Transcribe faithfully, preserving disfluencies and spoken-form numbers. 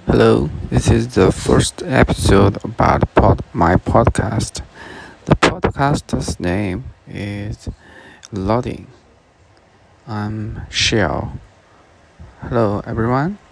Hello, this is the first episode about pod- my podcast. The podcast's name is Loading. I'm Shell. Hello, everyone.